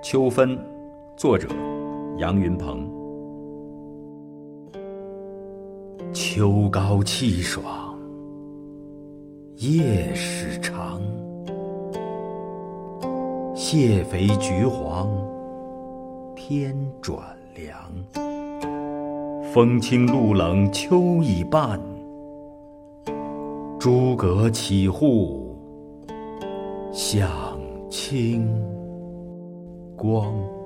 秋分，作者杨云鹏。秋高气爽，夜始长，蟹肥橘黄，天转凉。风清露冷秋已半，诸葛启户，响清光。